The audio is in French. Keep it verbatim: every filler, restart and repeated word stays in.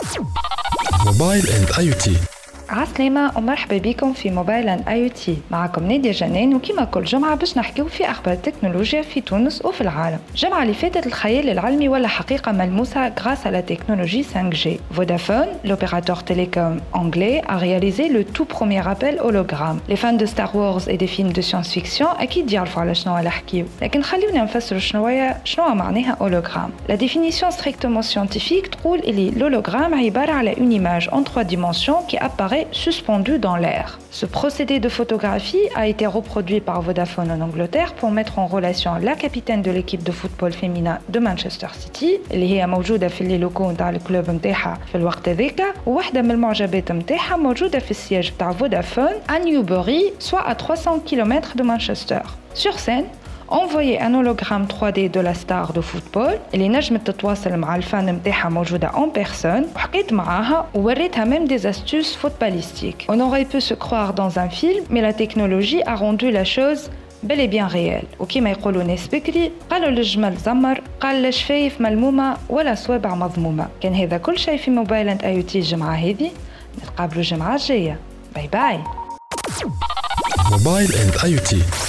موبايل اند اي تي. عسلامة ومرحبا بكم في موبايل اند اي تي. معكم نادية جنان، وكما كل جمعة باش نحكيو في أخبار التكنولوجيا في تونس وفي العالم. الجمعة اللي فاتت الخيال العلمي ولا حقيقة ملموسة grâce à la technologie cinq G. Vodafone, l'opérateur télécom anglais, a réalisé le tout premier appel hologramme. Les fans de Star Wars et des films de science-fiction أكيد يعرفوا على شنو نحكيو، لكن خليونا نفسروا شنو شنو معناها hologramme. La définition strictement scientifique تقول اللي l'hologramme عبارة على une image en trois dimensions qui apparaît suspendu dans l'air. Ce procédé de photographie a été reproduit par Vodafone en Angleterre pour mettre en relation la capitaine de l'équipe de football féminin de Manchester City اللي هي موجودة في اللي لوكو نتاع الكلوب نتاعها في الوقت هذاك، وواحدة من المعجبات نتاعها موجودة في السياج نتاع فودافون à Newbury, soit à trois cents kilomètres de Manchester. Sur scène, envoyer un hologramme trois D de la star de football اللي نجمت تتواصل مع الفان متاعها موجودة en personne، وحكيت معاها ووريتها même des astuces footballistiques. On aurait pu se croire dans un film, mais la technologie a rendu la chose bel et bien réelle. وكما يقولوا ناس بكري قالوا للجمل زمر، قال للشفايف ملمومة ولا صوابع مضمومة. كان هذا كل شيء في موبايل اند اي تي الجمعة هذه، نتقابلوا الجمعة الجاية. باي باي. موبايل اند اي تي.